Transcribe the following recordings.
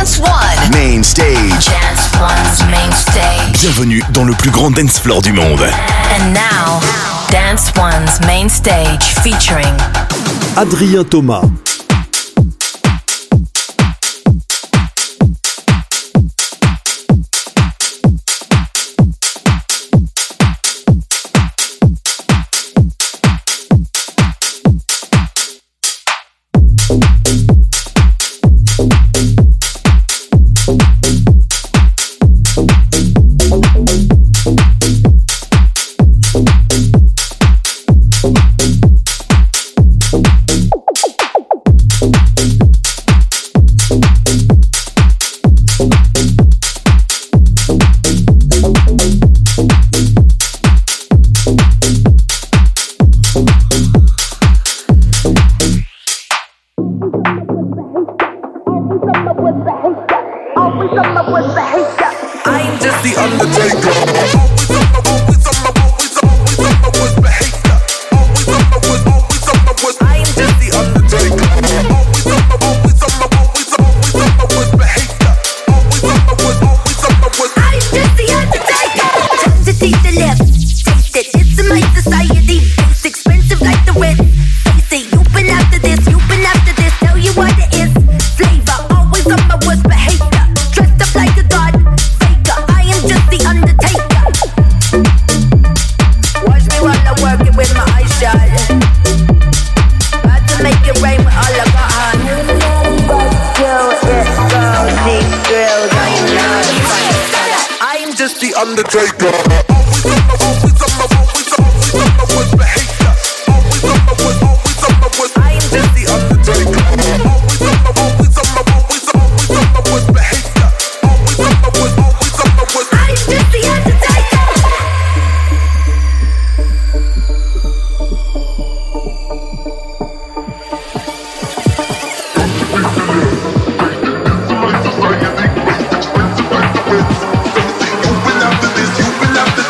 Dance One. Main stage. Dance One's main stage. Bienvenue dans le plus grand dance floor du monde. And now, Dance One's main stage featuring Adrien Thomas. You've been after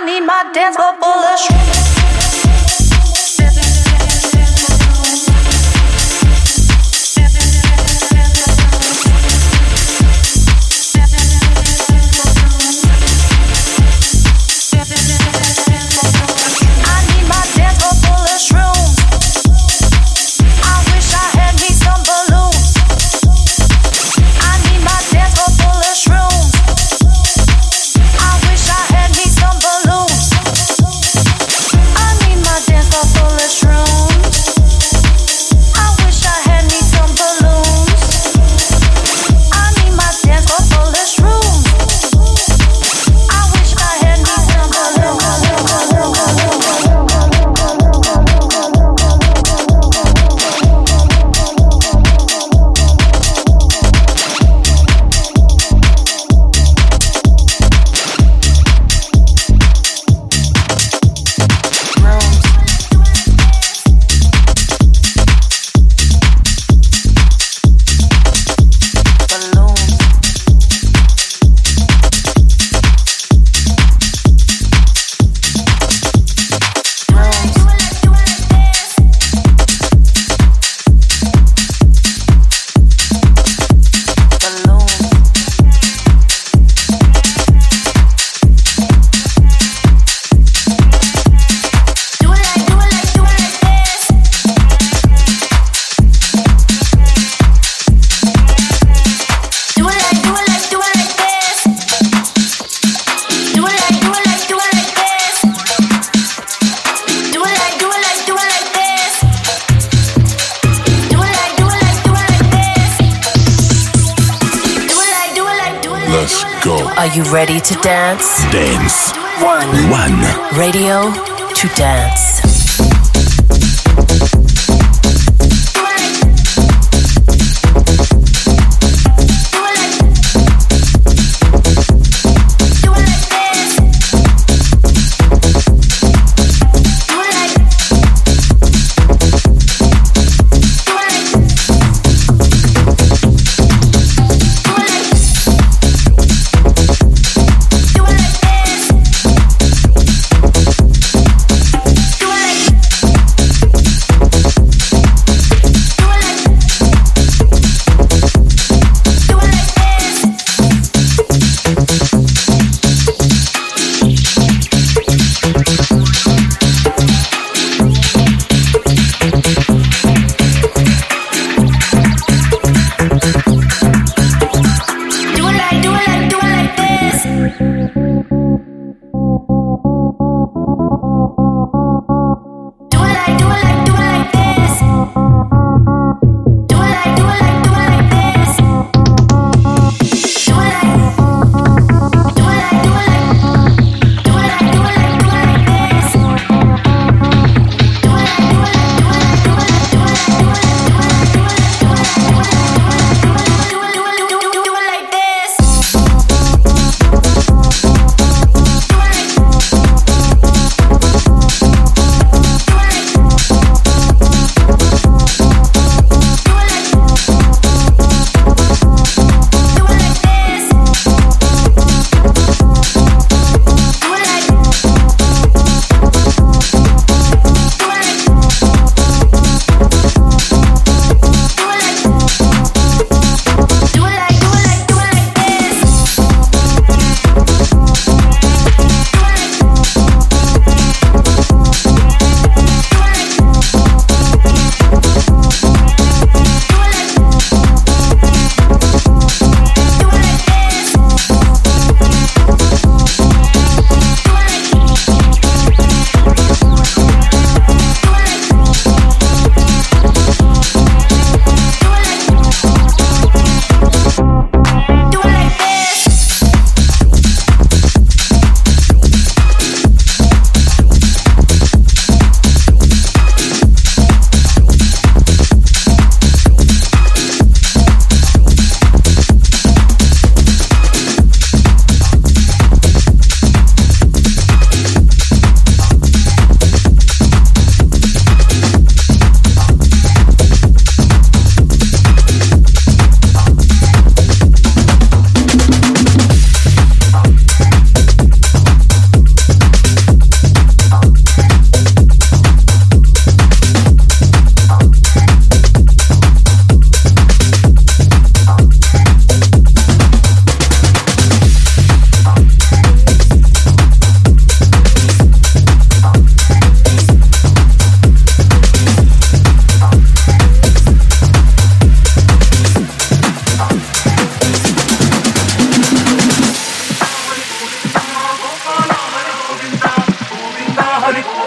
need my dance floor full of shrooms. Are you ready to dance? Dance. One. Radio to dance. Do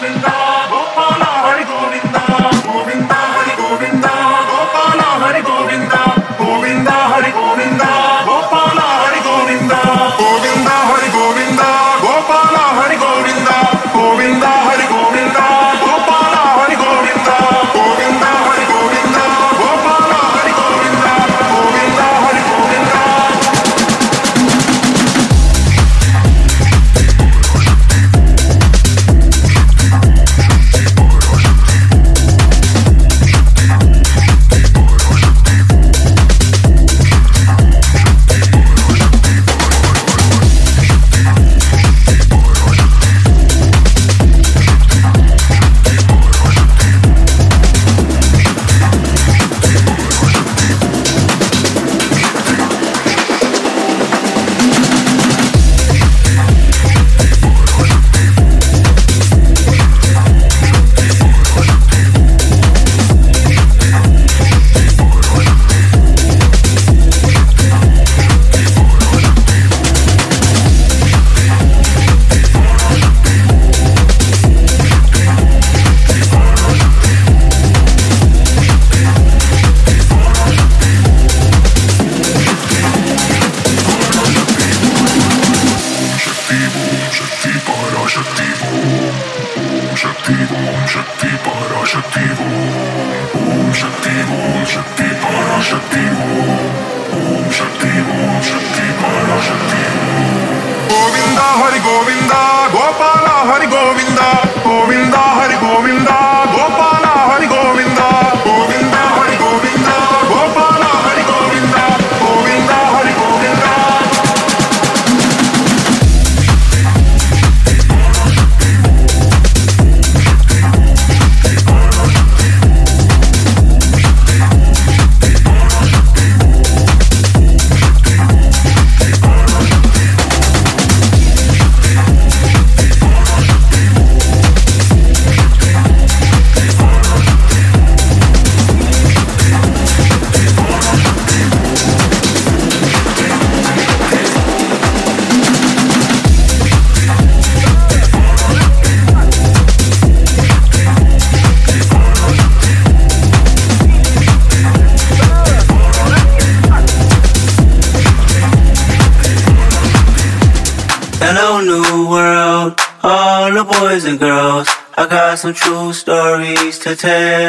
Hello, new world, all the boys and girls. I got some true stories to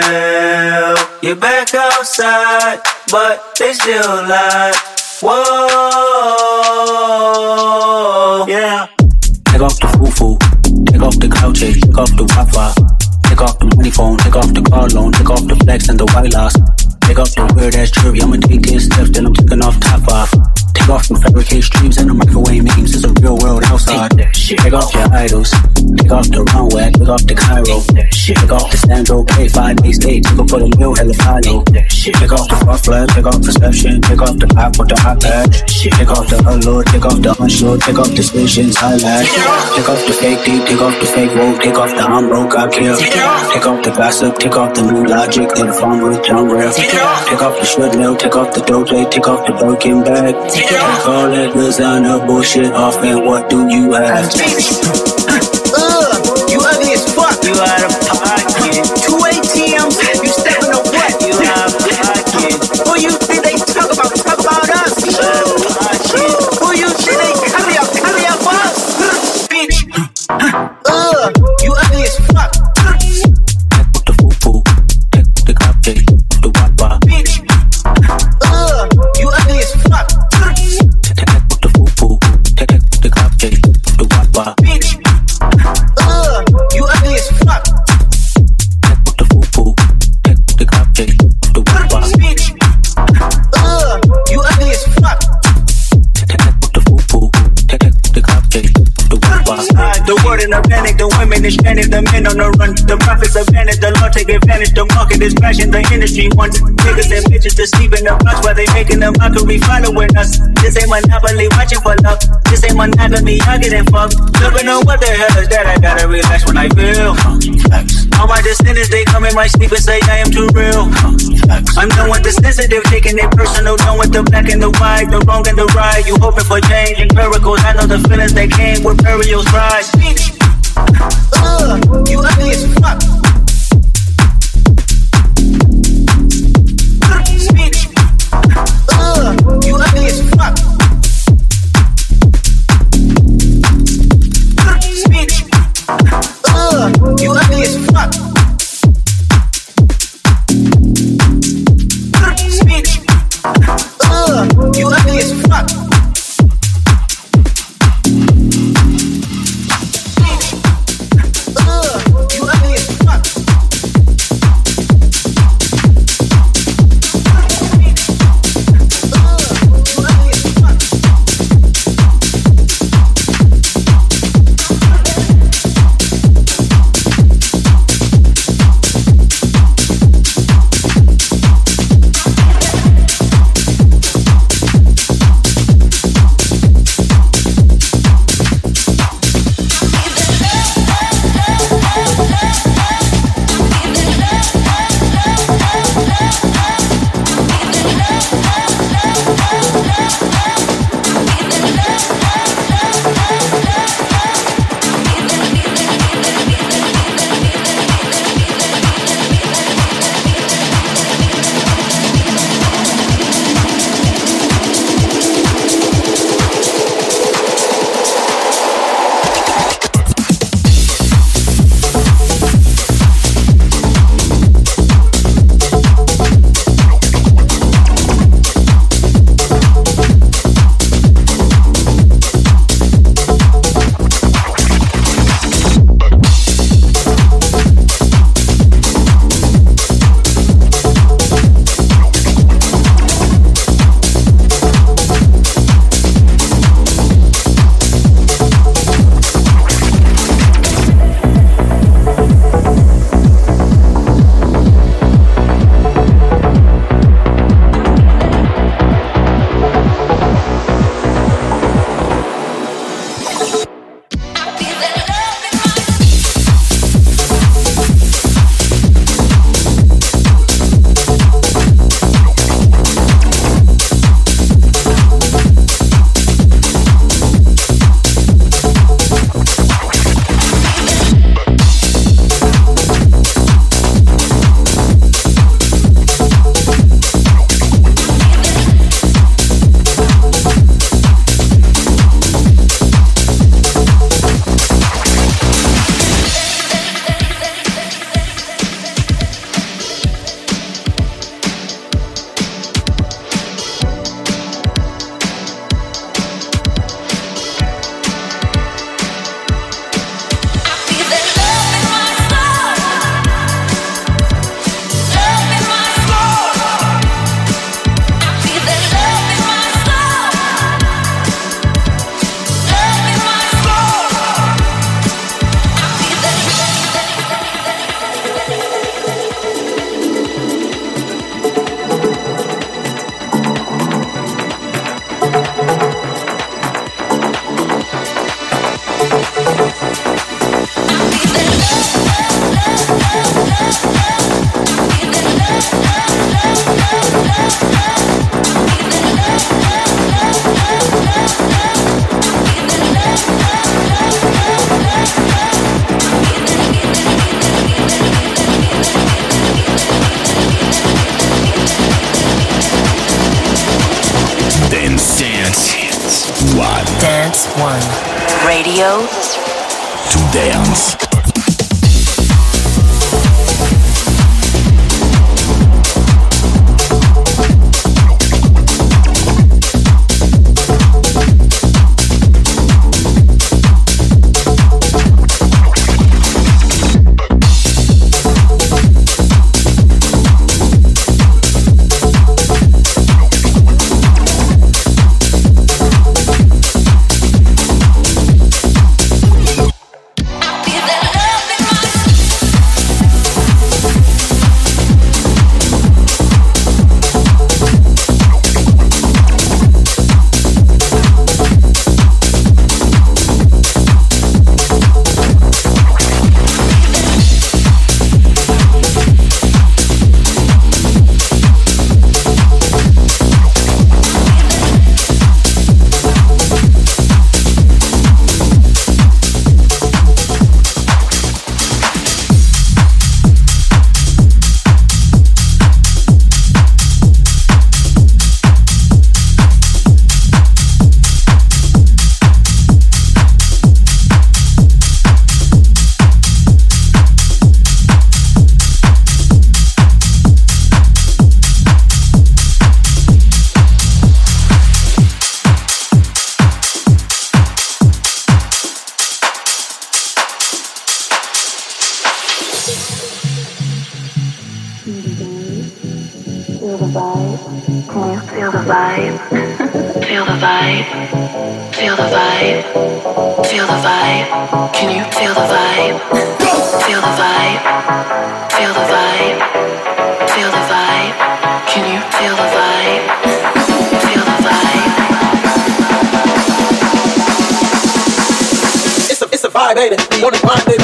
tell. You're back outside, but they still lie. Whoa, yeah. Take off the foo-foo, take off the cloud chase, take off the Wi-Fi. Take off the money phone, take off the car loan, take off the flex and the white loss. Take off the weird ass jury, I'ma take in steps, then I'm taking off top off. Take off from fabricate streams and the microwave memes, it's a real world outside. Take off your idols, take off the runway, take off the Cairo. Take off the Sandro, pay 5 days stay, take off for the meal, hella follow. Take off the far flag, take off perception, take off the pop with the hot patch. Take off the allure, take off the unsure, take off the suspicions, highlights. Take off the fake deep, take off the fake woke, take off the I'm broke, I kill. Take off the gossip, take off the new logic, then farm with John Real. Take off the shred mill, take off the doje, take off the broken bag. Take all that designer bullshit off, and what do you have? You ugly as fuck. You out of pocket. 2 ATMs, you stepping on what? You out of pocket. Who you think they talk about us? You out of pocket. Who you think they carry up us? Bitch. You ugly as fuck. Take the foo-foo, take the cloud chase, the Wi-Fi. Bitch. You ugly as fuck. Take the foo-foo, take the cloud chase, the Wi-Fi. Bitch. You ugly as fuck. Take the foo-foo, take the cloud chase, the Wi-Fi. Bitch. You ugly as fuck. Take the foo-foo, take the cloud chase, the Wi-Fi. The world in a panic, the women is panic, the men on the run. The profits are vanished, the law take advantage. The market is crashing, the industry wants niggas and bitches to sleep in the box while they making a mockery following us. This ain't Monopoly, watching for love. This ain't monogamy, I getting fucked. Looking on what the hell is that? I gotta relax when I feel. All my descendants, they come in my sleep and say I am too real. I'm done with the sensitive, taking it personal. Done with the black and the white, the wrong and the right. You hoping for change and miracles. I know the feelings that came with burials, rise. You ugly as Radio To dance. Baby, be on the grind, baby.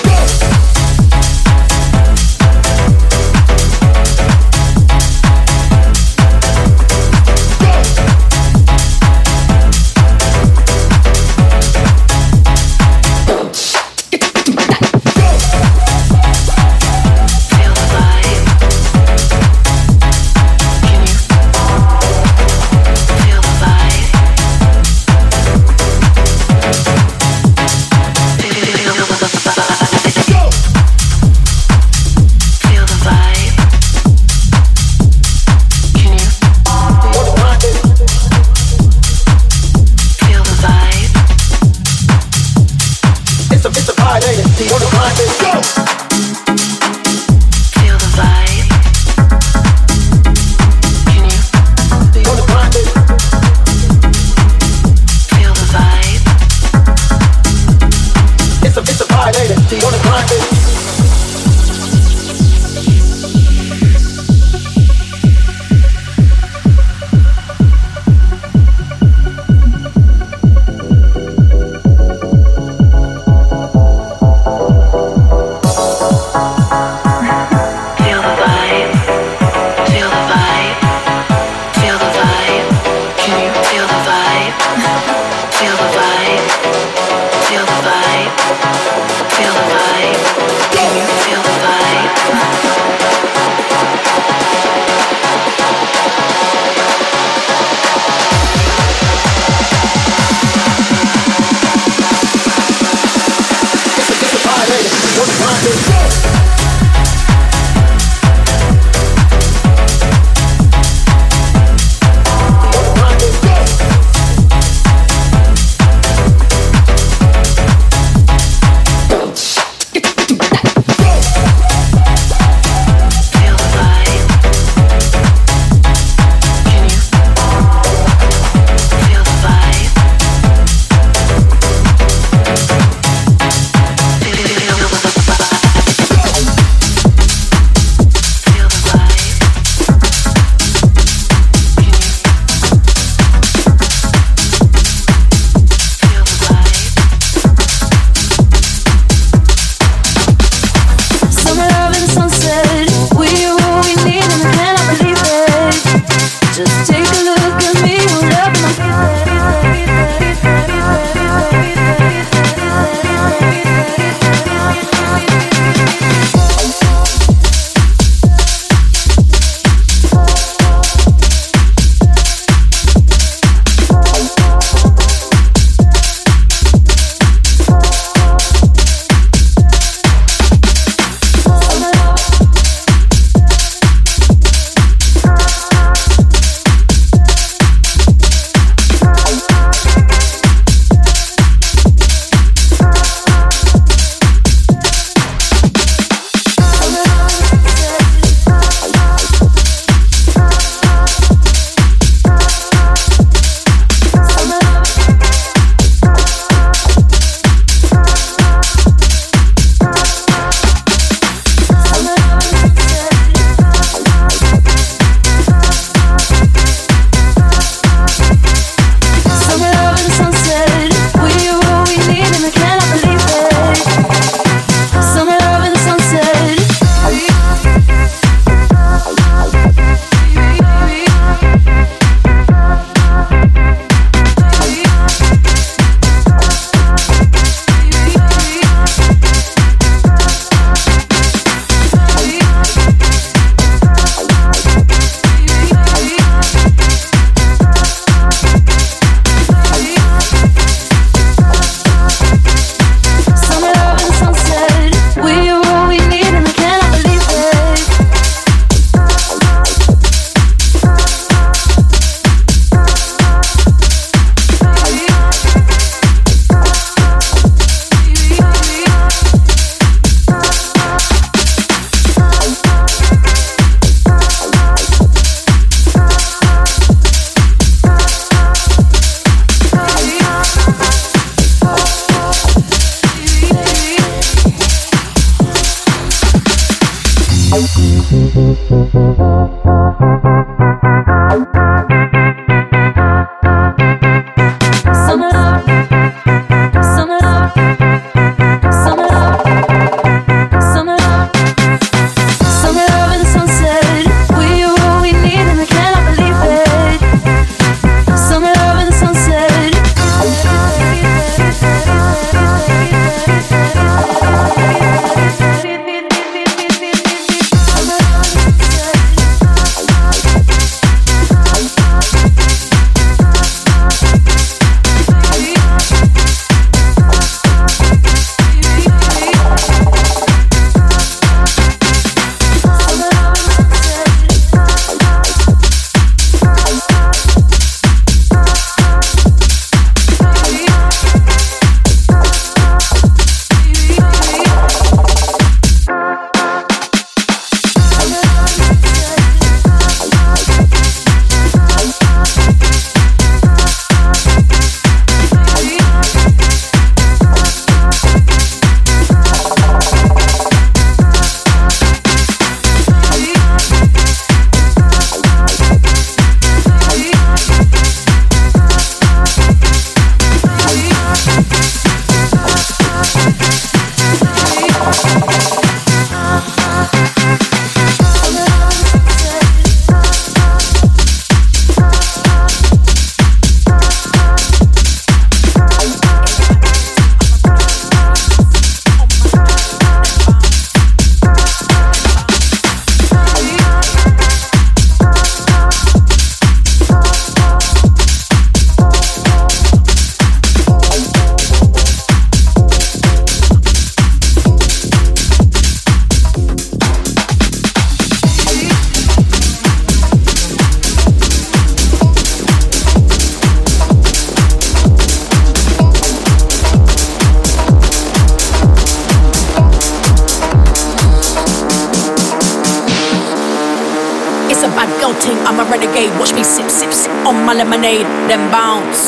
Lemonade, then bounce,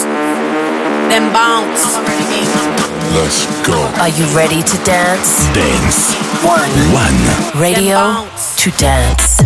then bounce. Let's go. Are you ready to dance? Dance. One. Radio to dance.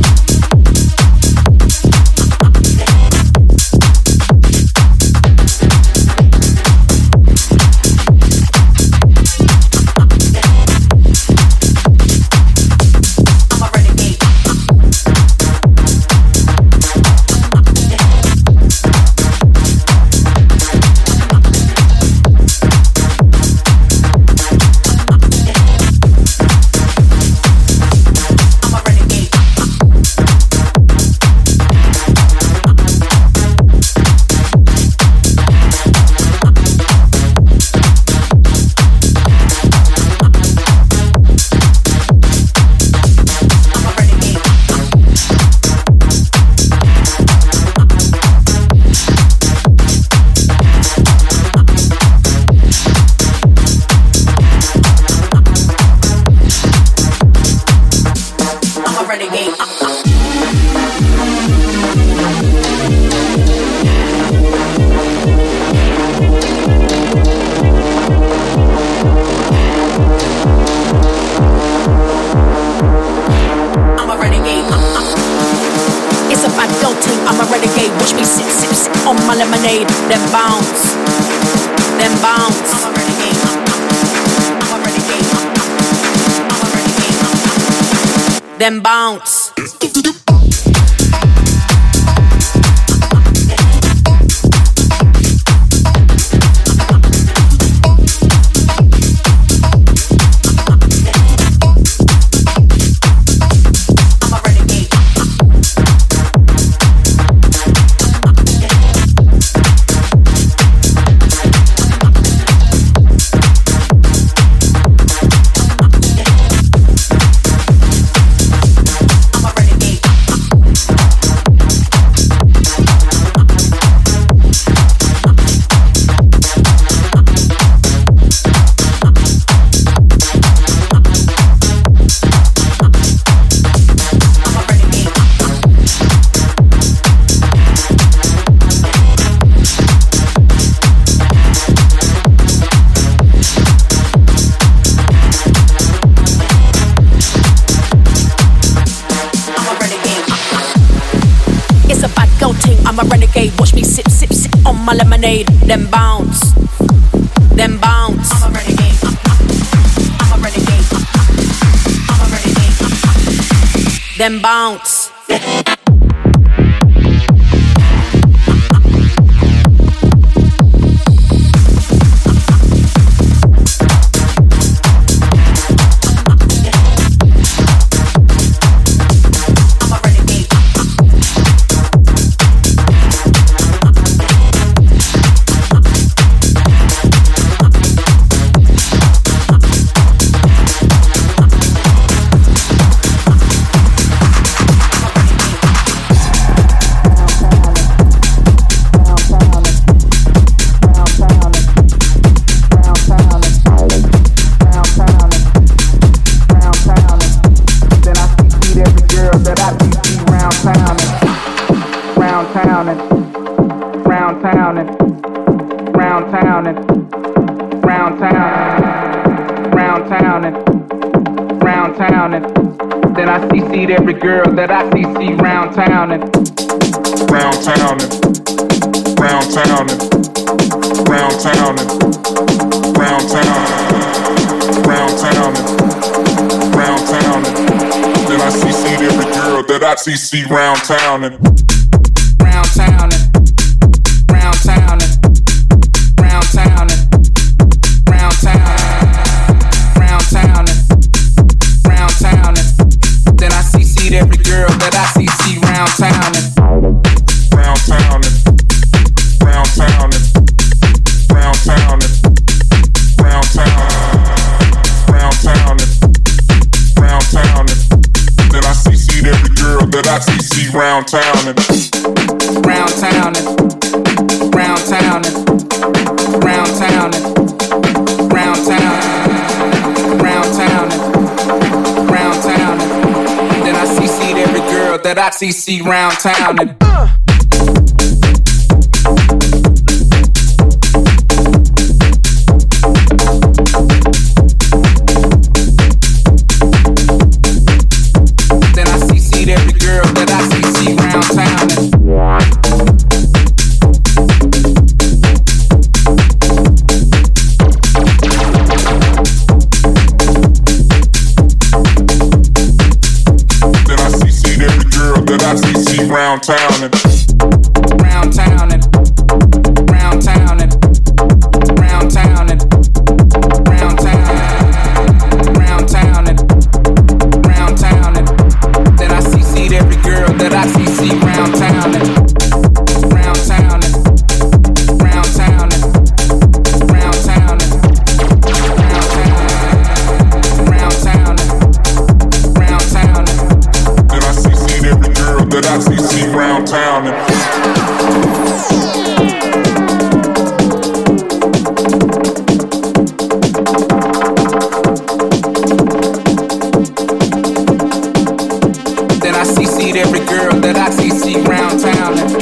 Then bounce. a renegade. Watch me sip, sip, sip on my lemonade. Then bounce, then bounce. I'm a renegade. I'm a renegade. I'm a renegade. Then bounce. Every girl that I see round town and round town and round town and round town and round town round town and round town and then I see every girl that I see round town and round town and round town and round town and round town round town and round town and then I see every girl that I see round town and round town and round town and round town and round town round town and round town and then I see every girl that I see round town and round town and round town and round town and round town round town and round town and then I see every girl that I see round town and then I see every girl that I see round town and round town and round town and round town and round town and round town round town and round town and then I see every girl that I see round town and round town and round town and round town and round town round town and round town and then I see every girl that I see round town and then I see every girl that I see round town and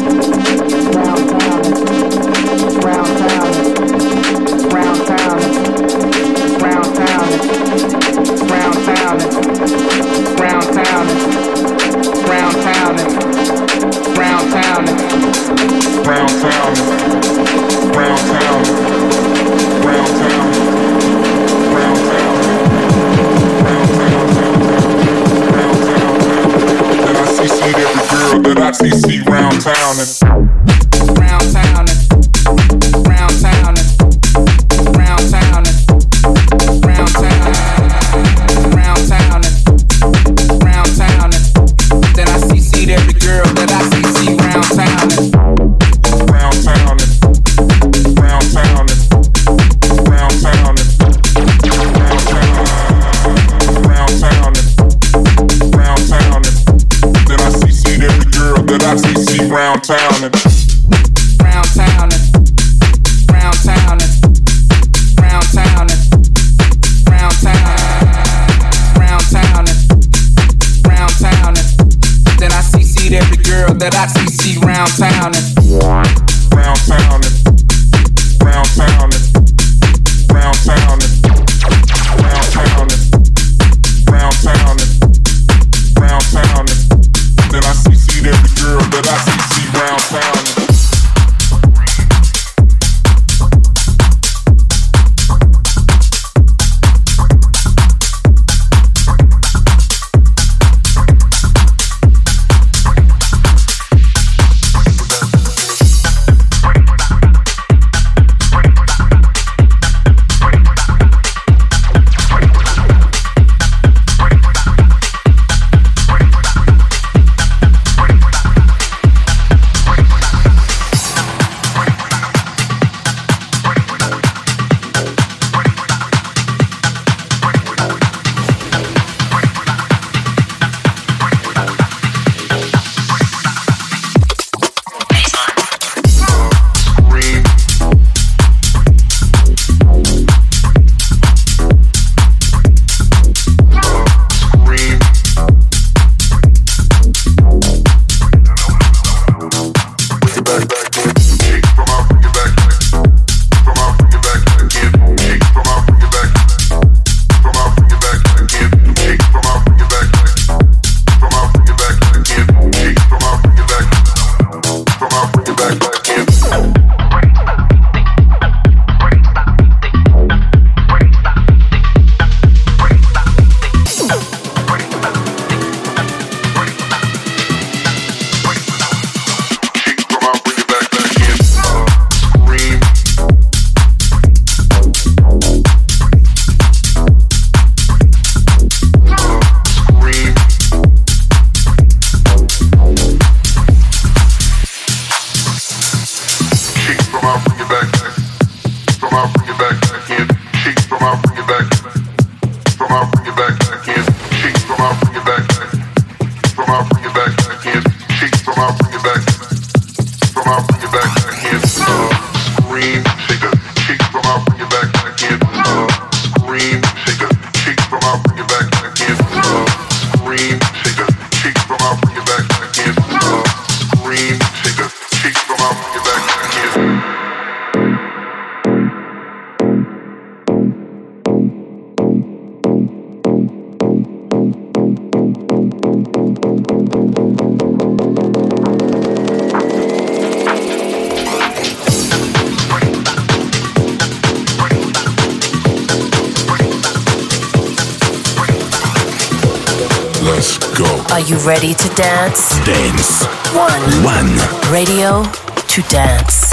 round town and round town and round town and round town and round town and round town and round town and round town and round town and round town and round town round town round town then I see every girl that I see round town and round town and round town and round town and round town round town and round town and then I see every girl that I see round town and round town and round town and round town and round town round town and round town and then I see every girl that I see round town and round town and round town and round town and round town round town and round town and then I see every girl that I see round town and round town and round town and round town and round town and round town and round town and then I see every girl that I see round town and Let's go. Are you ready to dance? Dance One. Radio to dance.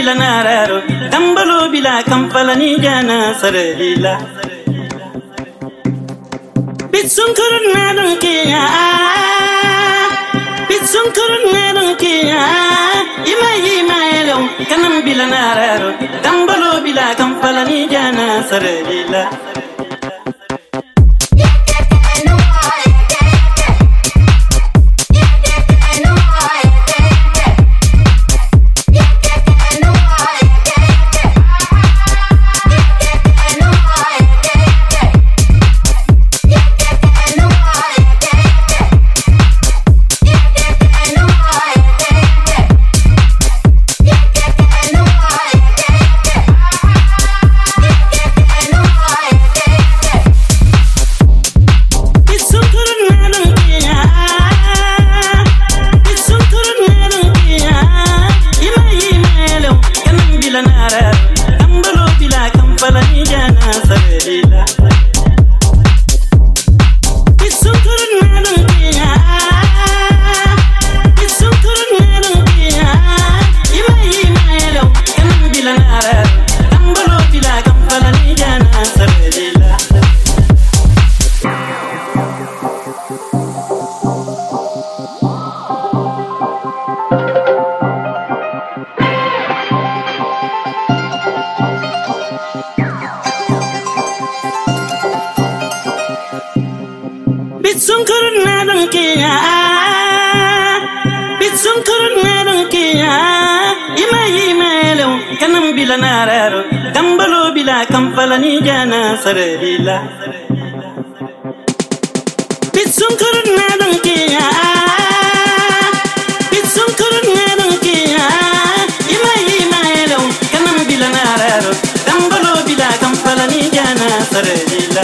bila nararo dambalo bila kampalani jana sarila bitsunkurun nadon kiya bitsunkurun nadon kiya ima elon kanam bila nararo dambalo bila kampalani jana sarila kampalani jana sarila bitsunkurun nadon kiya bitsunkurun nadon kiya ima elo kanam bila nararo dambalo bila kampalani jana sarila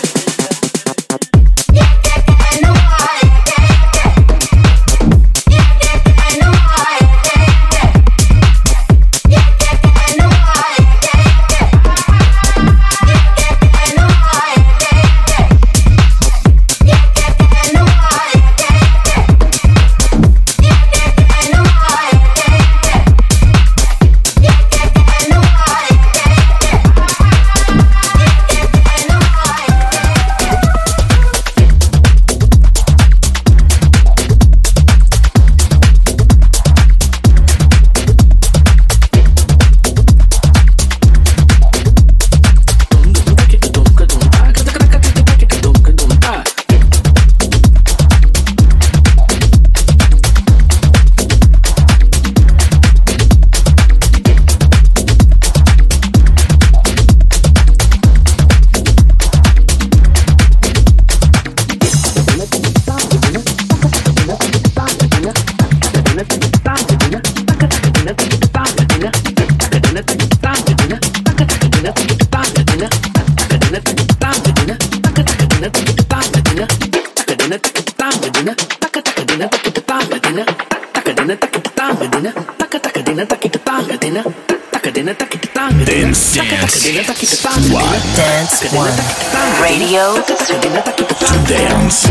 Dance One Radio to dance.